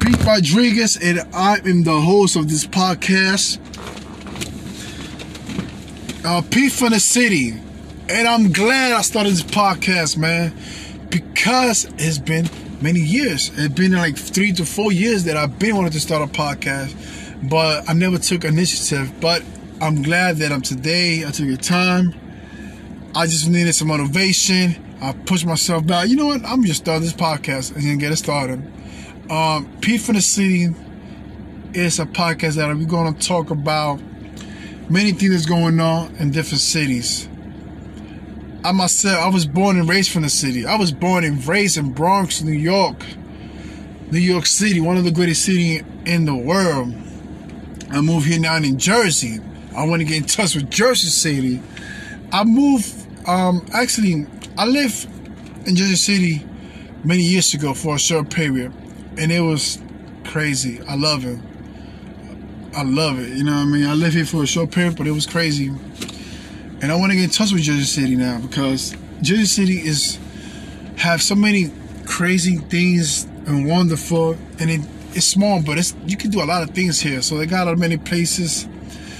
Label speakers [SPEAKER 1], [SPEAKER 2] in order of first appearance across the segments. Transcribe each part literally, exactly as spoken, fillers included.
[SPEAKER 1] Pete Rodriguez, and I am the host of this podcast, uh, Pete from the City. And I'm glad I started this podcast, man, because it's been many years. It's been like three to four years that I've been wanting to start a podcast, but I never took initiative. But I'm glad that I'm today. I took the time. I just needed some motivation. I pushed myself back. You know what? I'm just start this podcast and then get it started. Um, Pete from the City is a podcast that we're going to talk about many things that's going on in different cities. I myself, I was born and raised from the city. I was born and raised in Bronx, New York. New York City, one of the greatest cities in the world. I moved here now in Jersey. I want to get in touch with Jersey City. I moved, um, actually, I lived in Jersey City many years ago for a short period. And it was crazy. I love it. I love it. You know what I mean? I lived here for a short period, but it was crazy. And I want to get in touch with Jersey City now because Jersey City is have so many crazy things and wonderful, and it, it's small, but it's you can do a lot of things here. So they got a many places,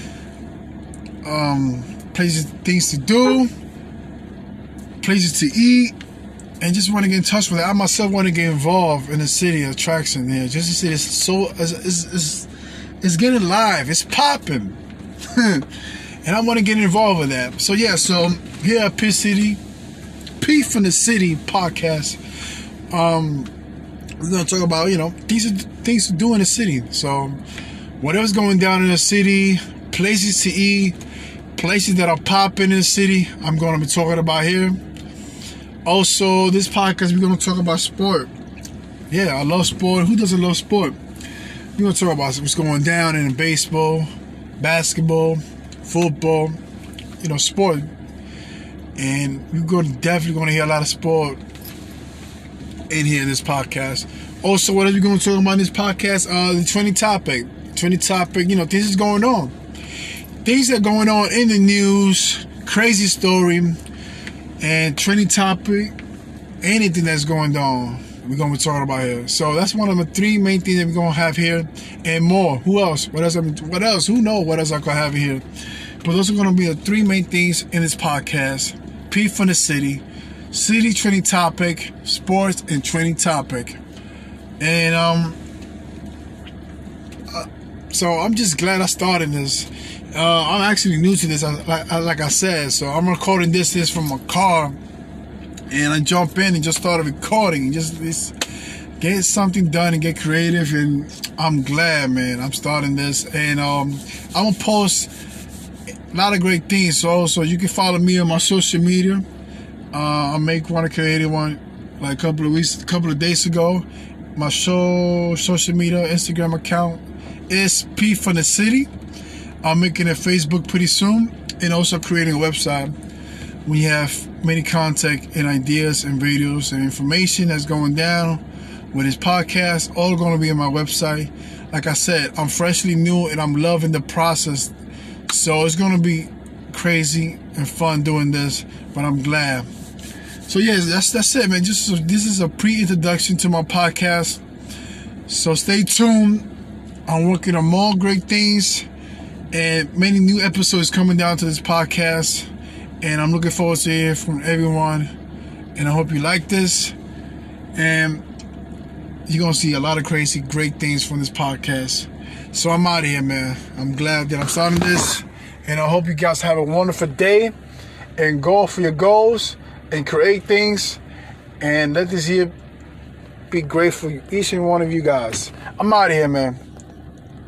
[SPEAKER 1] um, places, things to do, places to eat, and just want to get in touch with it. I myself want to get involved in the city attraction here. Jersey City is so is is it's getting live. It's popping. And I want to get involved with that. So yeah, so here at Pete City, Pete from the City podcast, um, we're gonna talk about, you know, these are things to do in the city. So whatever's going down in the city, places to eat, places that are popping in the city, I'm gonna be talking about here. Also, this podcast we're gonna talk about sport. Yeah, I love sport. Who doesn't love sport? We're gonna talk about what's going down in baseball, basketball, football, you know, sport. And we're going to definitely going to hear a lot of sport in here in this podcast. Also, what are we going to talk about in this podcast? Uh, the trending topic. Trending topic, you know, things is going on. Things that are going on in the news, crazy story, and trending topic, anything that's going on, we're going to be talking about here. So that's one of the three main things that we're going to have here, and more. Who else? What else? What else? Who knows what else I could have here? But those are going to be the three main things in this podcast. Pete from the City, city trending topic, sports, and trending topic. And um, uh, so I'm just glad I started this. Uh, I'm actually new to this, like, like I said. So I'm recording this this from my car. And I jump in and just started recording and just, just get something done and get creative. And I'm glad, man, I'm starting this. And um, I'm going to post a lot of great things. So, so you can follow me on my social media. Uh, I make one, I created one like a couple of weeks, a couple of days ago. My show, social media, Instagram account is Pete from the City. I'm making a Facebook pretty soon and also creating a website. We have many content and ideas and videos and information that's going down with this podcast, all going to be on my website. Like I said, I'm freshly new and I'm loving the process. So it's going to be crazy and fun doing this, but I'm glad. So yes, that's that's it, man. Just so this is a pre-introduction to my podcast. So stay tuned. I'm working on more great things and many new episodes coming down to this podcast. And I'm looking forward to hearing from everyone. And I hope you like this. And you're going to see a lot of crazy, great things from this podcast. So I'm out of here, man. I'm glad that I'm starting this. And I hope you guys have a wonderful day. And go for your goals. And create things. And let this year be great for each and one of you guys. I'm out of here, man.